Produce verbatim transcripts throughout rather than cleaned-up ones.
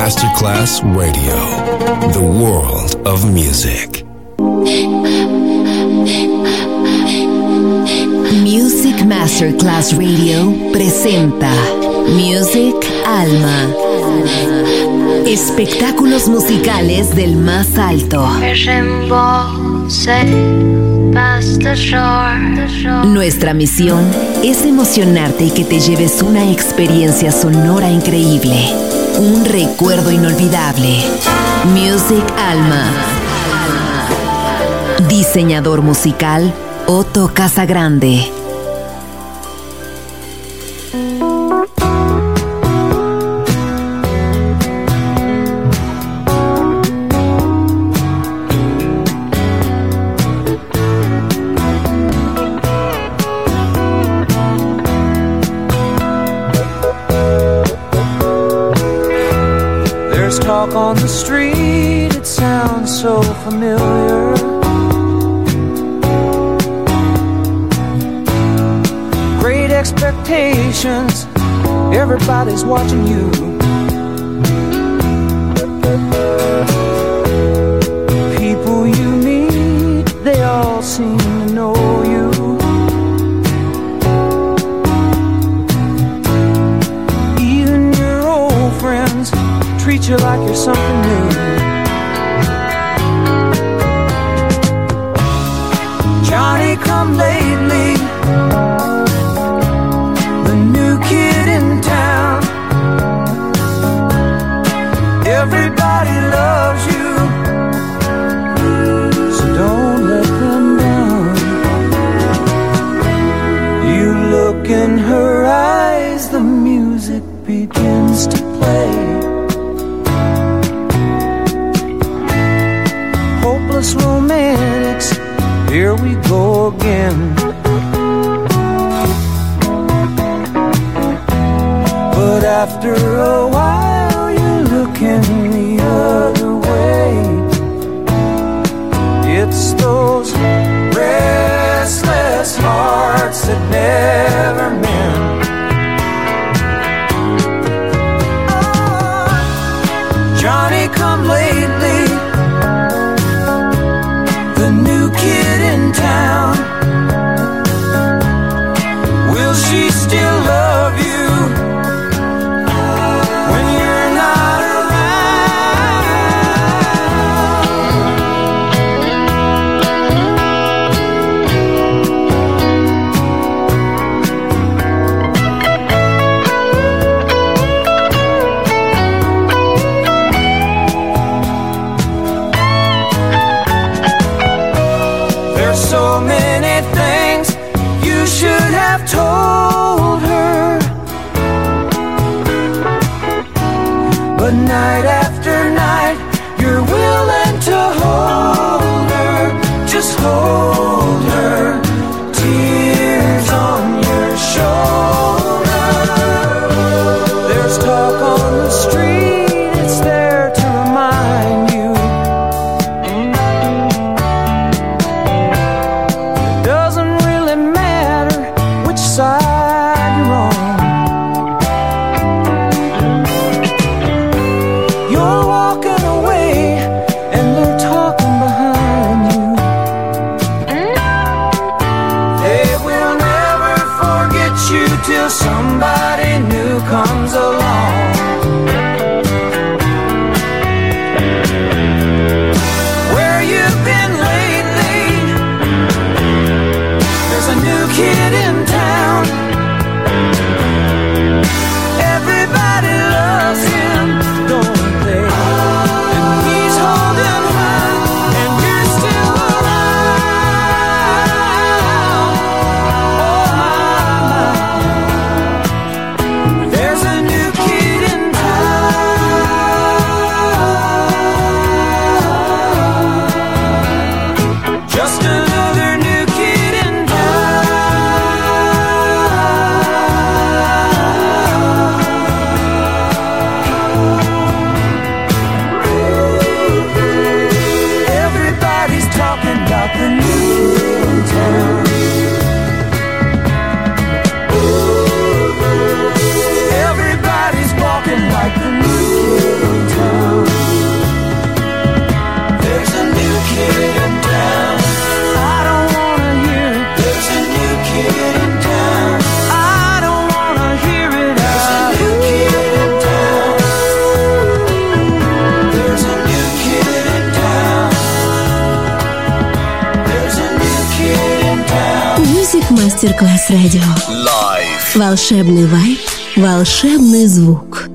Masterclass Radio, the world of music. Music Masterclass Radio presenta Music Alma. Espectáculos musicales del más alto. Nuestra misión es emocionarte y que te lleves una experiencia sonora increíble, un recuerdo inolvidable. Music Alma. Diseñador musical Otto Casagrande. Talk on the street, it sounds so familiar. Great expectations, everybody's watching you. People you meet, they all seem to know you. Even your old friends treat you like you're something new. Johnny come lately, the new kid in town. Everybody loves you, so don't let them down. You look in her eyes, the music begins to play. Romantics, here we go again. But after a while you're looking the other way. It's those restless hearts that never mend. Oh, Johnny come lately, kid in town. Will she still love you when you're not so many things you should have told her, but night after night you're willing to hold her, just hold her, tears on your shoulder. There's talk on the street, it's there to remind you. Side you're on. You're walking away and they're talking behind you. They will never forget you. Мастер-класс радио. Live. Волшебный вайб, волшебный звук.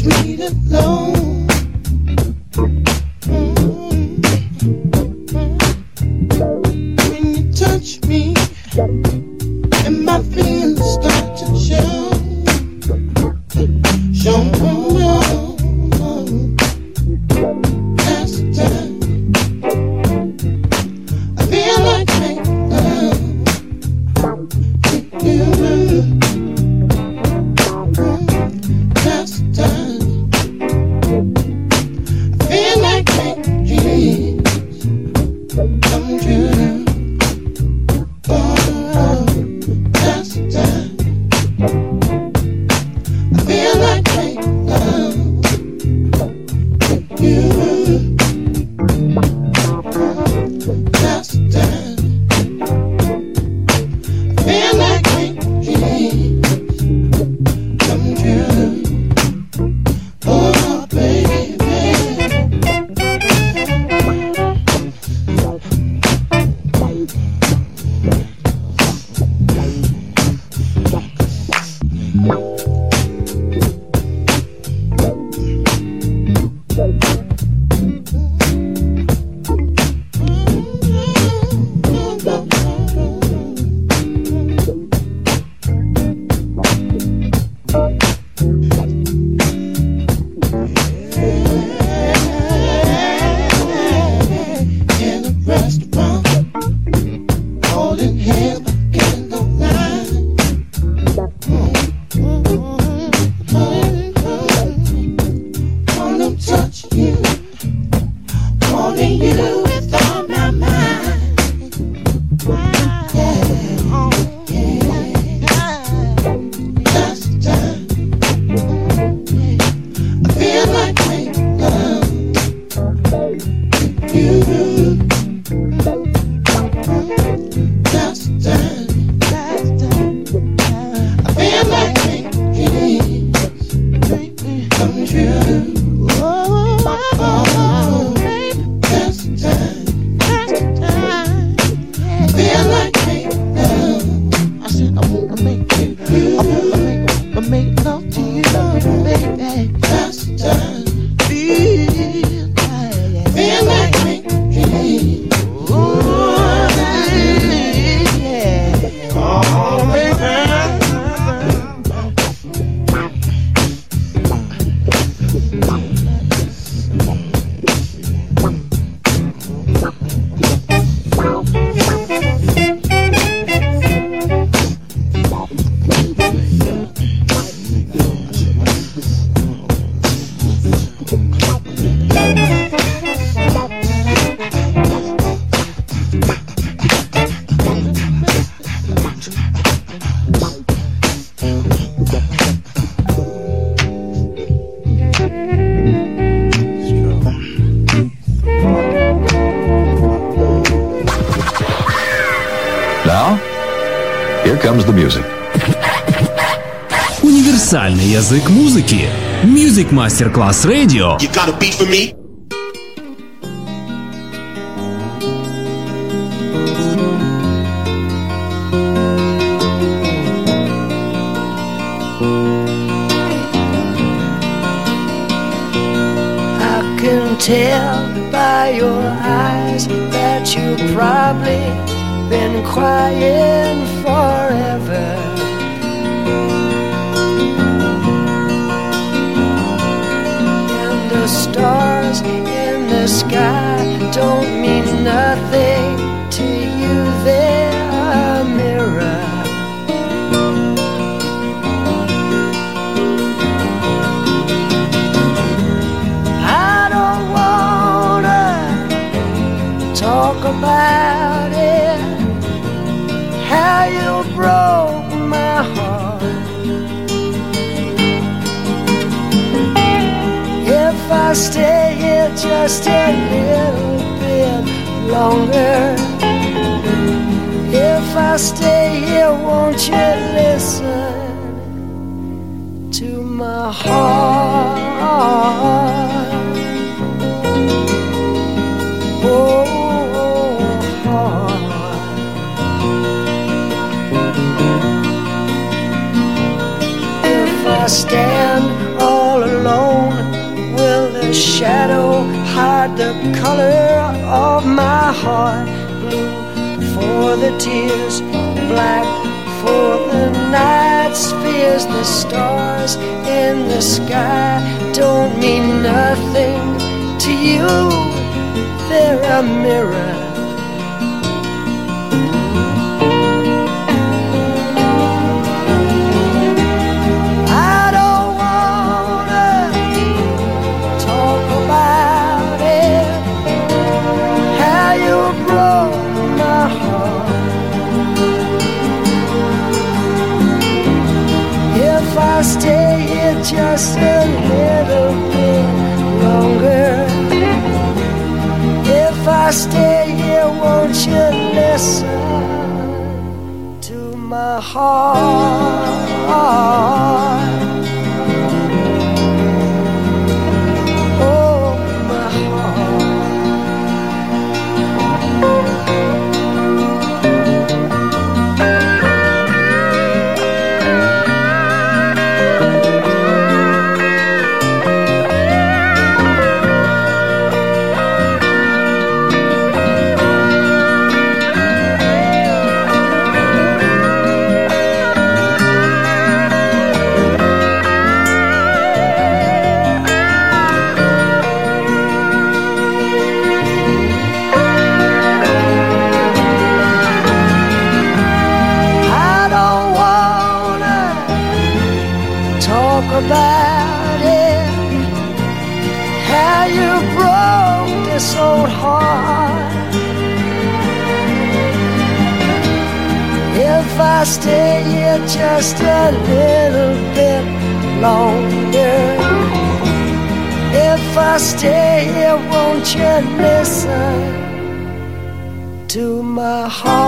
sweet alone. When you touch me and my feelings start to show, show me love. That's the time I feel like making love with you. That's the time I feel like making dreams come true. Oh, that's the time I feel like making love with you. That's the time I feel like making dreams come true. Oh, baby. In a restaurant, holding hands by candlelight. Wanna touch you, wanting you with all my mind. Yeah, yeah. That's the time I feel like making love with you. That's the time I feel like making dreams come true. Oh, that's the time I feel like making love. I said I wanna make you, I wanna make, wanna make love to you, baby. That's the time feel like, feel like making dreams. Oh, yeah. Oh, baby. Now, here comes the music. Универсальный язык музыки. Music Masterclass Radio. You got a beat for me? I can tell by your eyes that you've probably been crying forever. And the stars in the sky don't mean nothing to you, they're a mirror. I don't wanna talk about it, how you broke my heart. If I stay here just a little bit longer, if I stay here, won't you listen to my heart? Oh, heart. If I stand all alone white the color of my heart, blue for the tears, black for the night's fears. The stars in the sky don't mean nothing to you, they're a mirror. I don't wanna talk about it, how you broke my heart. If I stay here just a little bit longer, if I stay here, won't you listen to my heart? Oh, my heart. About it, how you broke this old heart. If I stay here just a little bit longer, if I stay here, won't you listen to my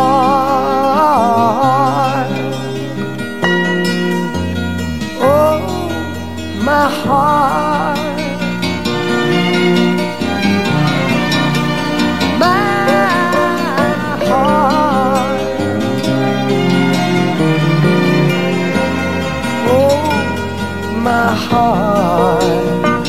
heart? My heart, my heart, oh, my heart.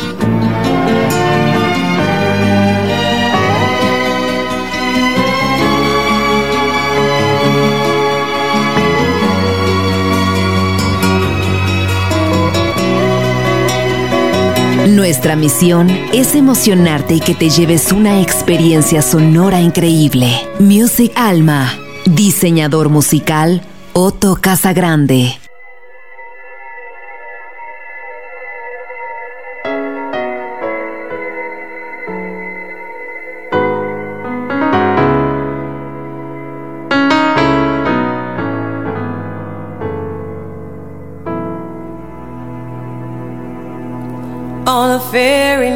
Nuestra misión es emocionarte y que te lleves una experiencia sonora increíble. Music Alma. Diseñador musical, Otto Casagrande. On a fairy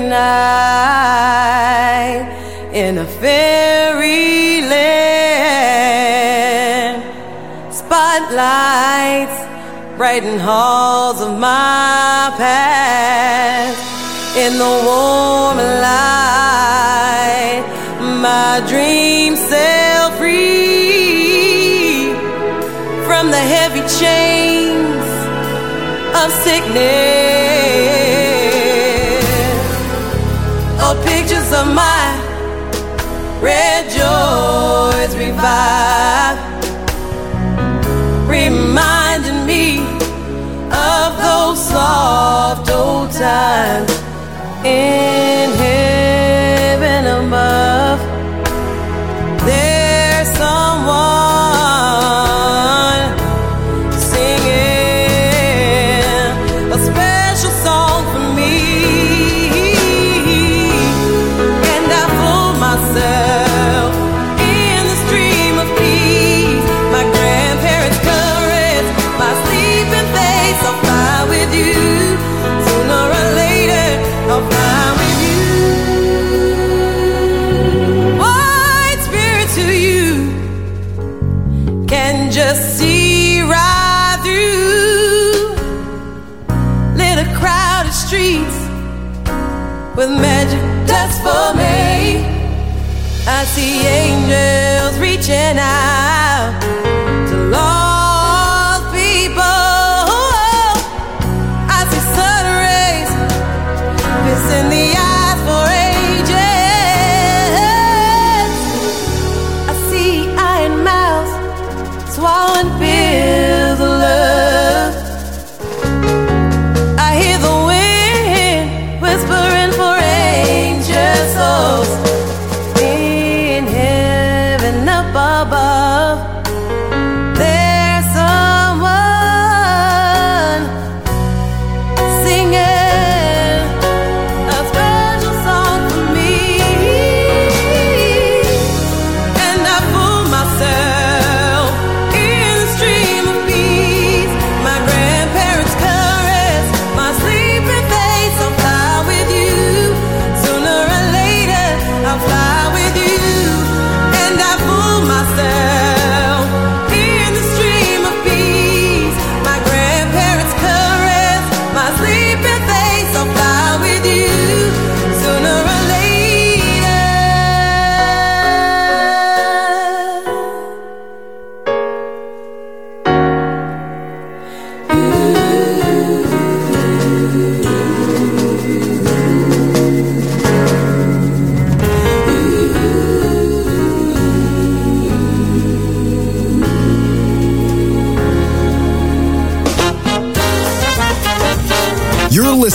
night, in a fairy land, spotlights brighten halls of my past. In the warm light, my dreams sail free from the heavy chains of sickness. Old pictures of my red joys revive, reminding me of those soft old times in heaven above. There's someone singing a special song for me, and I fool myself in the stream of peace. My grandparents' caress, my sleeping face. I'll fly with you. Sooner or later, I'll fly with you. White spirit to you can just see right through. Lit a crowded streets with magic dust for me. I see angels reaching out to lost people. I see sun rays kissing the eyes for ages.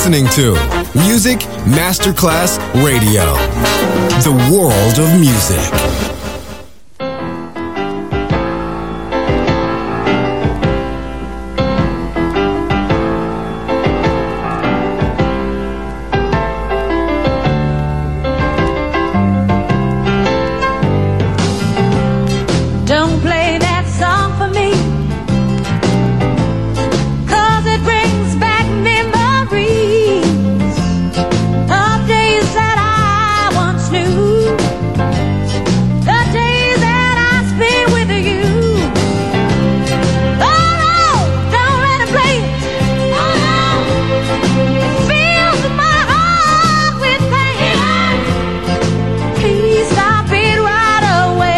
listening to Music Masterclass Radio, the world of music. Don't play that song for me, 'cause it brings back memories of days that I once knew, the days that I spent with you. Oh no, don't let it play it. Oh no, it fills my heart with pain. Please stop it right away.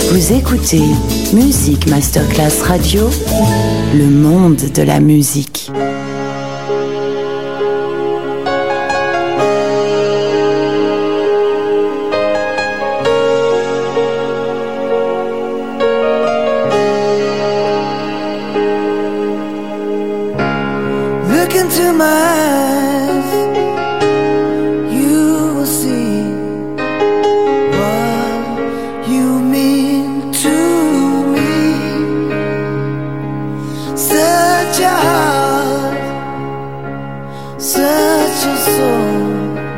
Vous écoutez Music Masterclass Radio, le monde de la musique. Look into my eyes, you will see what you mean to me. Such a heart, such a soul.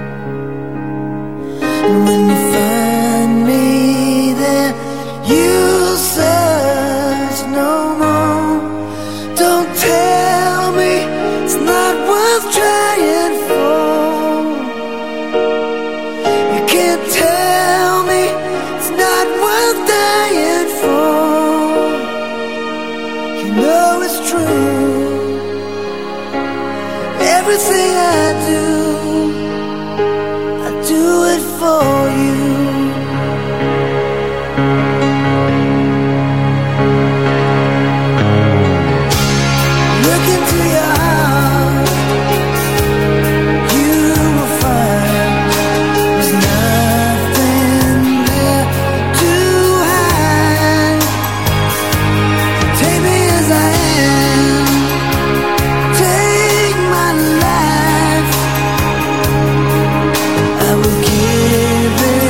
And when you find me there, you'll search no more. Don't tell me it's not worth trying for. You can't tell me it's not worth dying for. You know it's true. Everything I do, I do it for you. Look into your heart, you will find there's nothing there to hide. Take me as I am, take my life. I will give it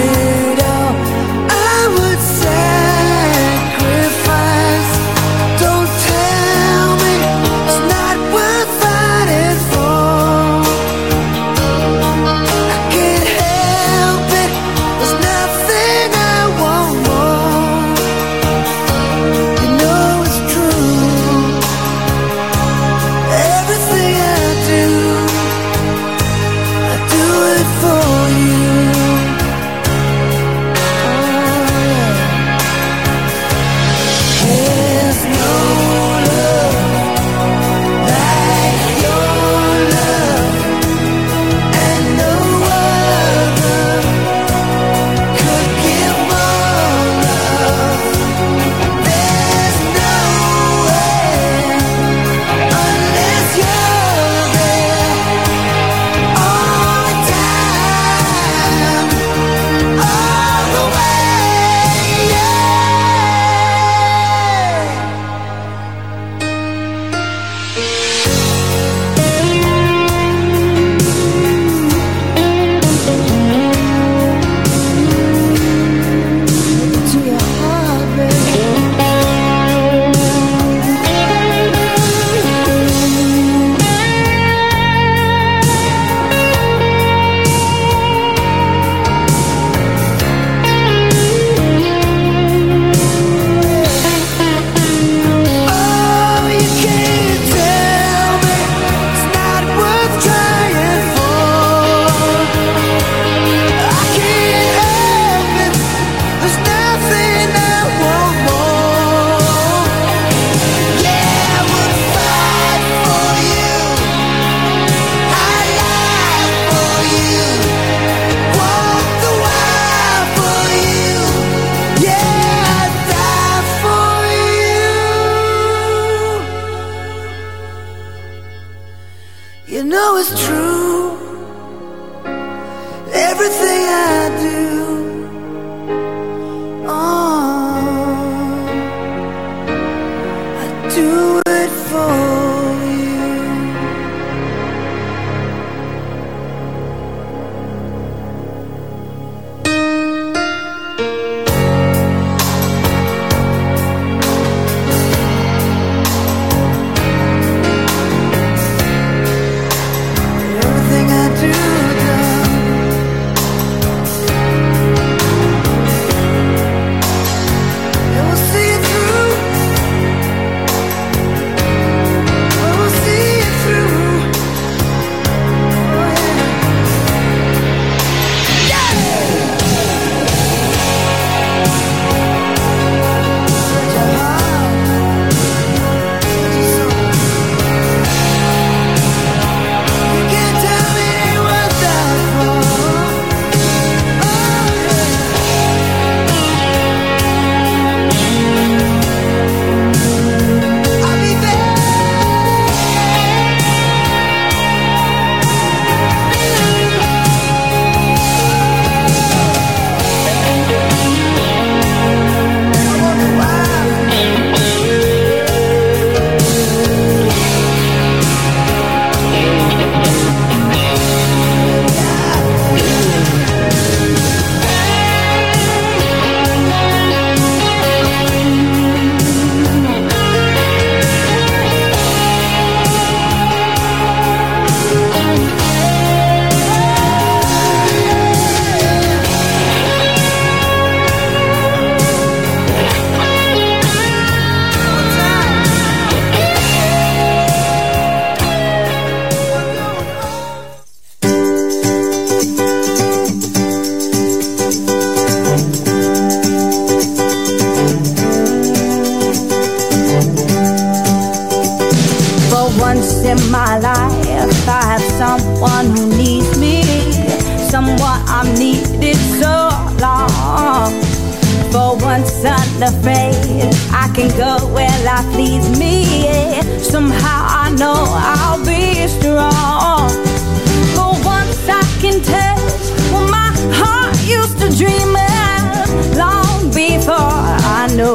once unafraid, I can go where life leads me. Yeah. Somehow I know I'll be strong. For once I can touch what my heart used to dream of long before I know.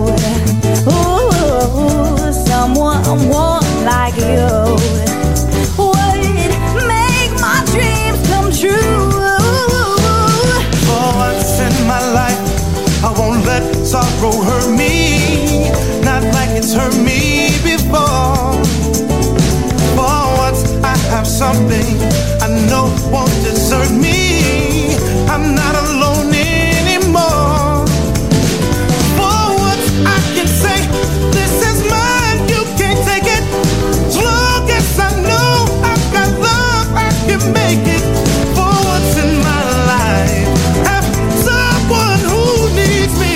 Ooh, someone warm like you would make my dreams come true. For once in my life, I won't let sorrow hurt me, not like it's hurt me before. For once I have something I know won't desert me. I'm not alone anymore. For once I can say, this is mine, you can't take it. As long as I know I've got love, I can make it. For once in my life, have someone who needs me.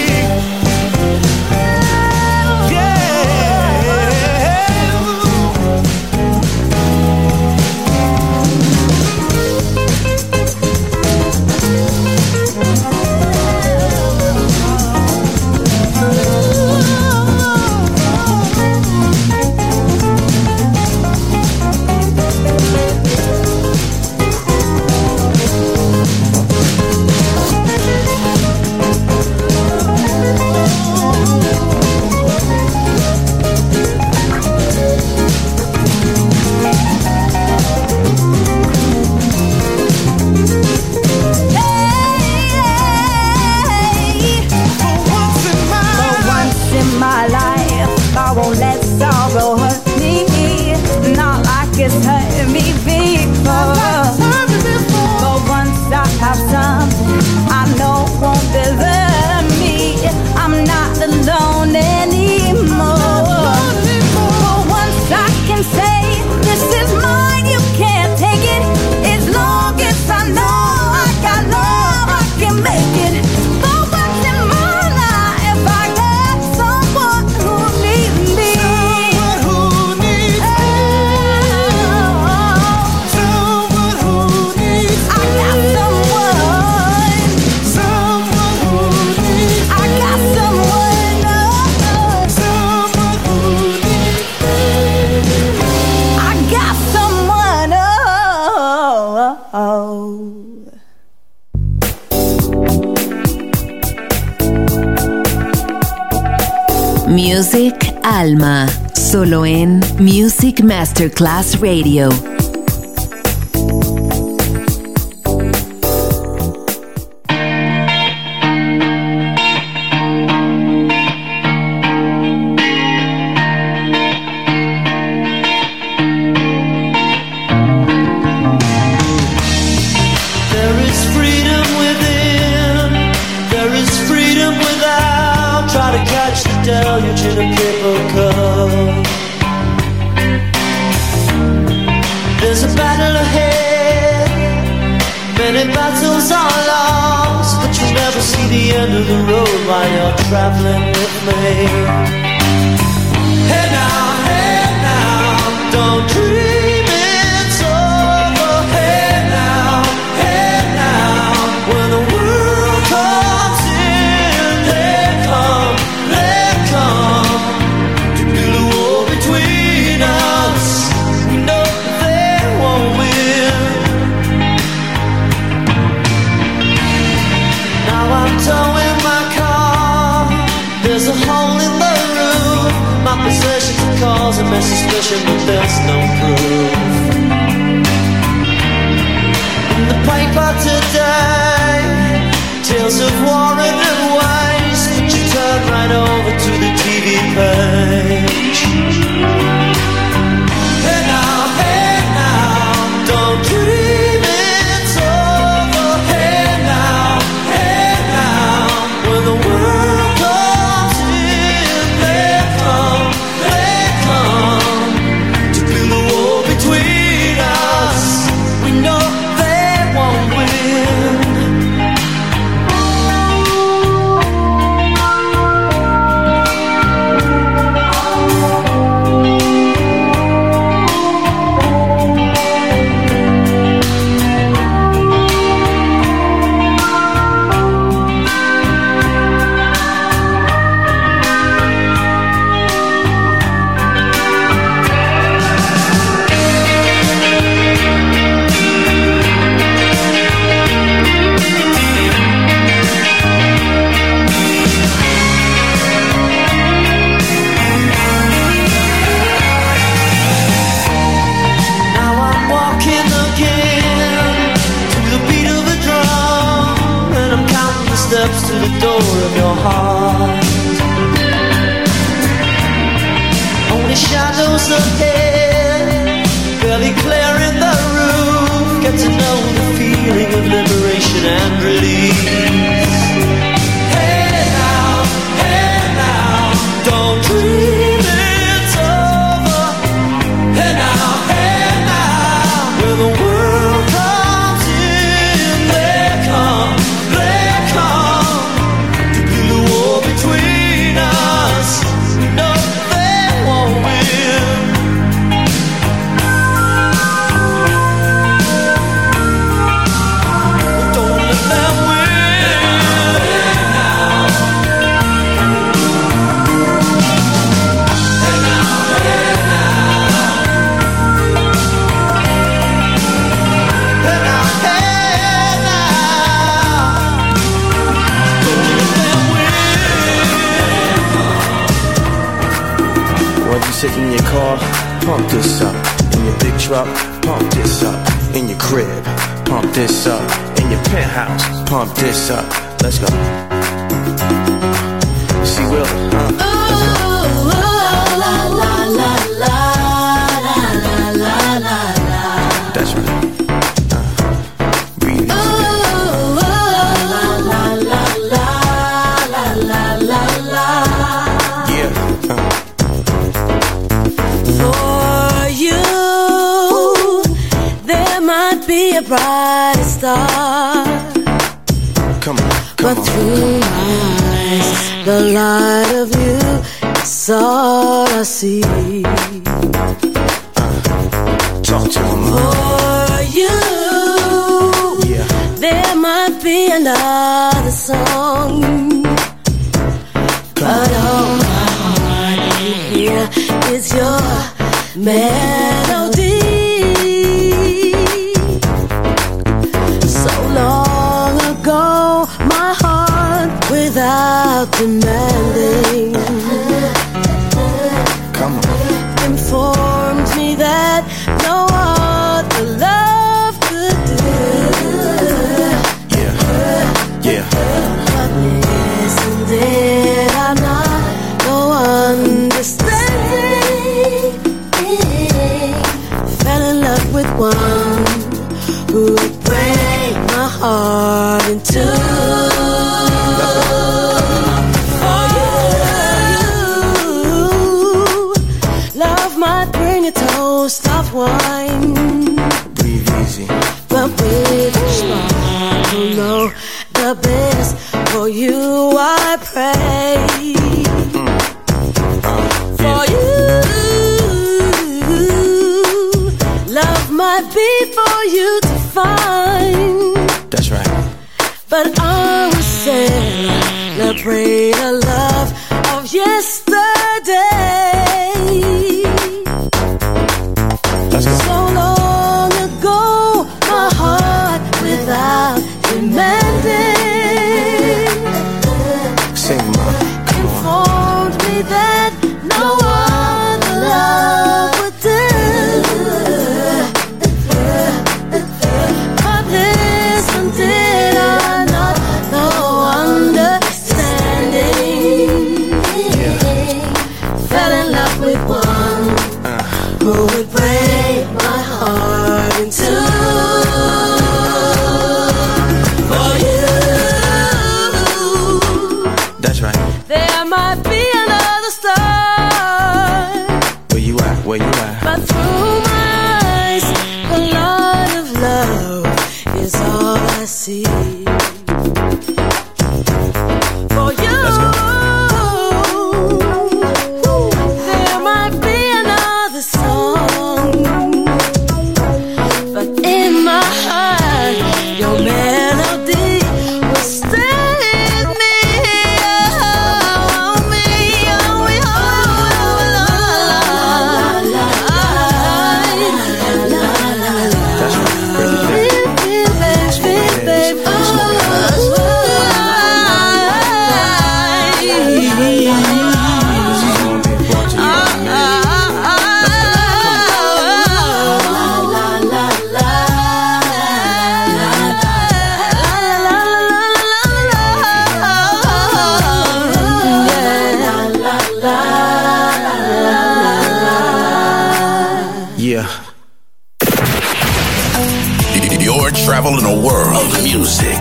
Music Alma, solo en Music Masterclass Radio. Traveling with me. Hey now, hey now, don't dream it's over. Hey now, hey now, when the world comes in, they come, they come to build a wall between us. We know they won't win. Now I'm towing my car. There's a hole in the roof. My possessions are causing me suspicion, but there's no proof. In the paper today, tales of war and waste. But you turn right over to the T V page. Hey now, hey now, don't dream it's over. Hey now, hey now, when the world steps to the door of your heart. Only shadows ahead, barely clearing the roof. Get to know the feeling of liberation and release. Hey now, hey now, don't dream it's over. Hey now, hey now, when the world comes in, they come, they come to build a wall between us. No, they won't win. Don't let them win. Hey now, hey now, hey now, hey now, hey now. Don't let them win. When you sit in your car, pump this up. In your big truck, pump this up. In your crib, pump this up. In your penthouse, pump this up. Let's go. See, Will, huh? That's right. Uh, breathe easy, baby. Yeah. Uh. For you, there might be a bright star, Come on, come but on. through my eyes, the light of you is all I see. Talk to him, huh? For you, Yeah. there might be another song, but all my heart can hear is your melody. So long ago, my heart, without demanding, Come on. informed me that no other love could do. Yeah. Yeah. But listen, did I not go understanding? Fell in love with one who would break my heart in two. For you, love might bring a toast of wine, Breathe easy. but with a smile, you know the best. For you, I pray. For you, love might be for you to find, That's right. but I will celebrate a love of yesterday. Let's go. So long ago, my heart without demanding Sing, Mom. Come on. informed me that no other love would do. But listen, did I not know understanding? Fell in love with one who would break my heart in two. For you, That's right. there might be another star, Where you at? Where you at? but through my eyes, the light of love is all I see. For you, there might be another song, but in my heart, your melody will stay with me, oh, me.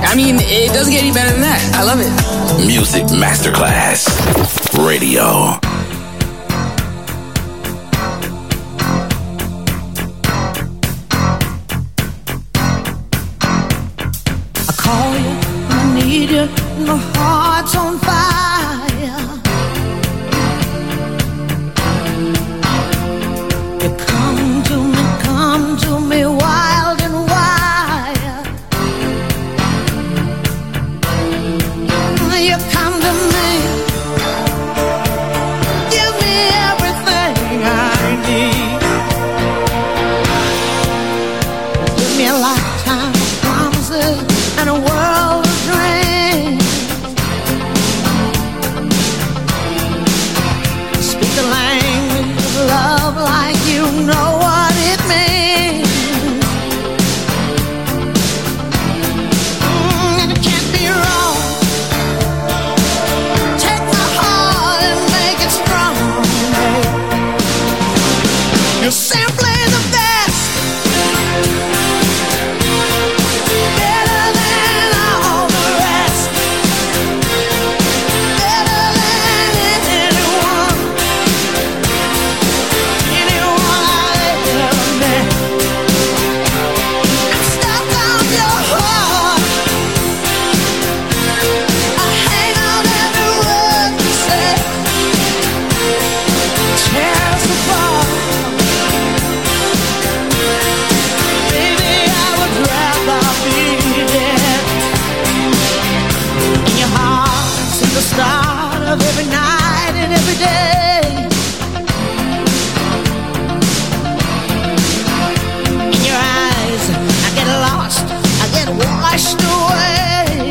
I mean, it doesn't get any better than that. I love it. Music Masterclass Radio. I call you, I need you, my heart's on fire. You come to me, come to me wild and wild. You come to me, give me everything I need. Give me a lifetime of promises and a world of dreams. Speak the language of love like you know what it means. Mm, and it can't be wrong. Take my heart and make it strong. You're simply the best. Better than all the rest. Better than anyone. Anyone I ever met. I'm stuck on your heart. I hang on every word you say. Tear us apart. Baby, I would rather be dead. In your heart, see the start of every night and every day. In your eyes, I get lost, I get washed away.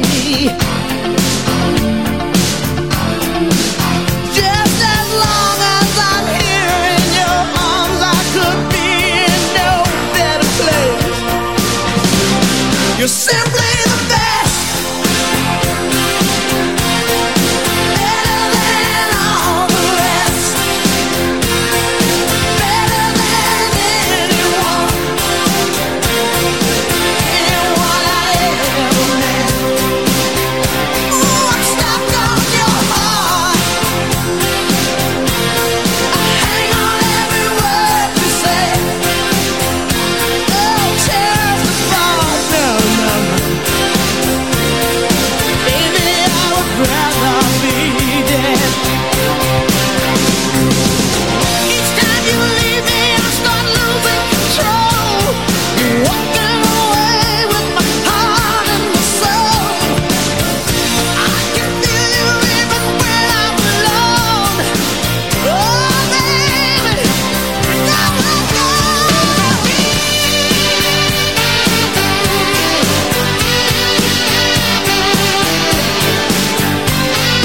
Just as long as I'm here in your arms, I could be in no better place. You're simply the best. Better than all the rest. Better than anyone. Anyone I ever met. Ooh, I'm stuck on your heart. I hang on every word you say. Oh, tear us apart. No, no, no. Baby, I would rather be dead. Each time you leave me, I start losing control. Walking away with my heart and my soul. I can feel you even when I'm alone. Oh, baby, now I know.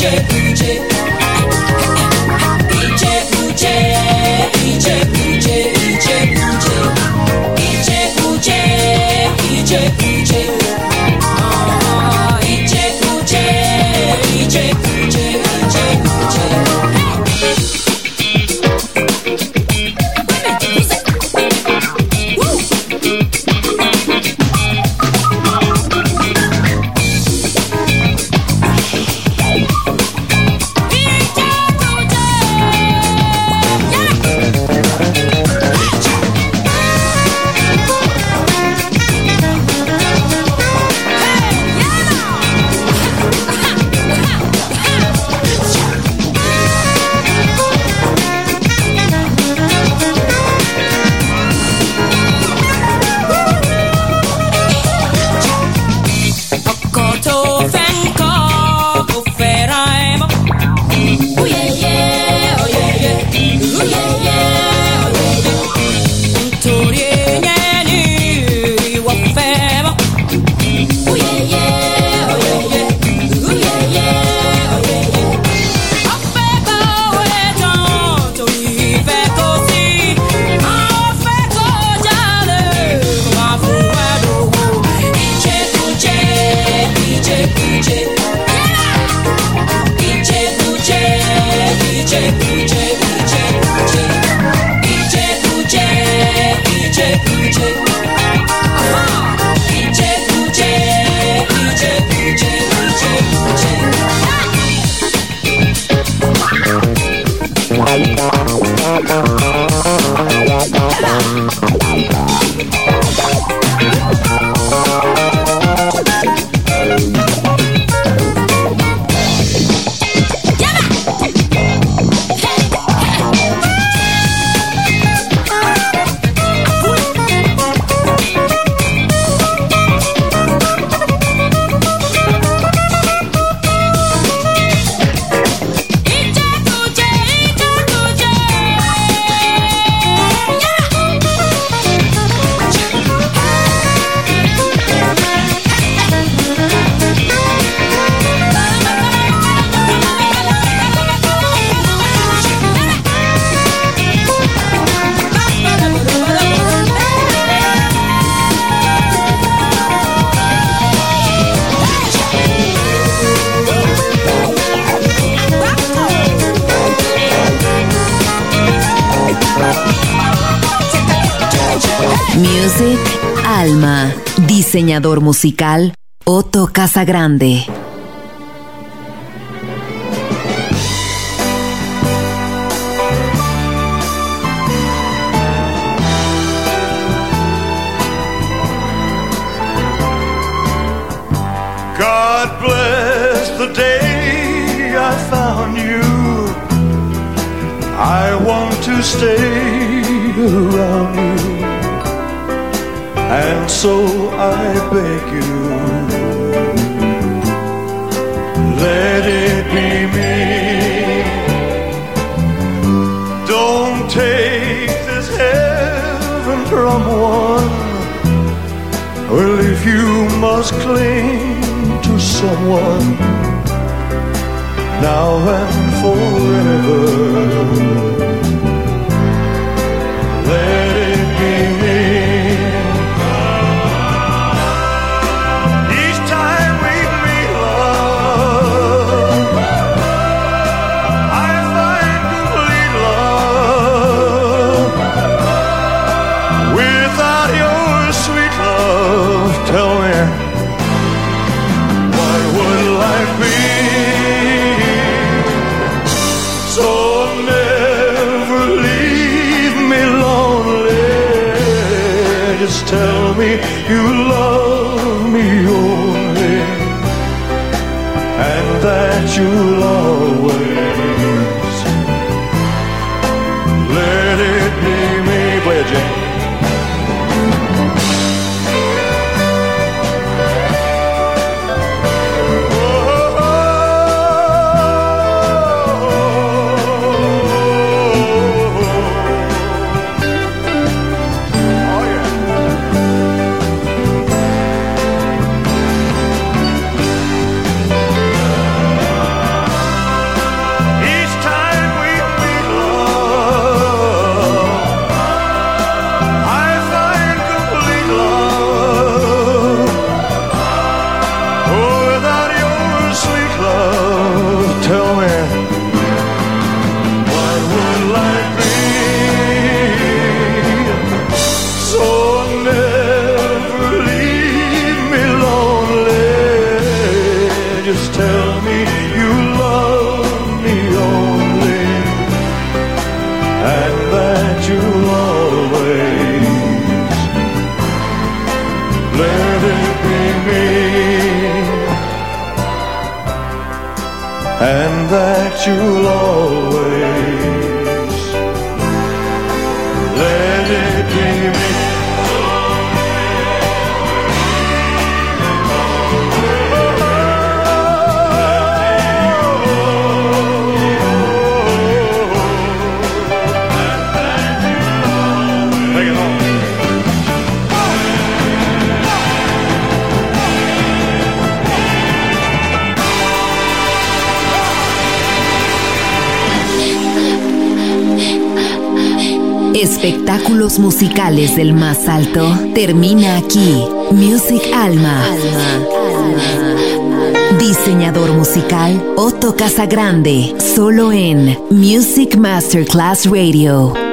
Music Alma. Diseñador musical Otto Casagrande. God bless the day I found you. I want to stay around you, and so I beg you, let it be me. Don't take this heaven from one. Well, if you must cling to someone now and forever, let it be me. Each time we meet, love, I find complete love. Without your sweet love, tell me, what would life be? So never leave me lonely. Just tell me you love me only, and that you'll always let it be me. Play it, Jane. just tell me you love me only, and that you'll always let it be me, and that you'll always let it be me. Espectáculos musicales del más alto termina aquí. Music Alma. Diseñador musical Otto Casagrande, solo en Music Masterclass Radio.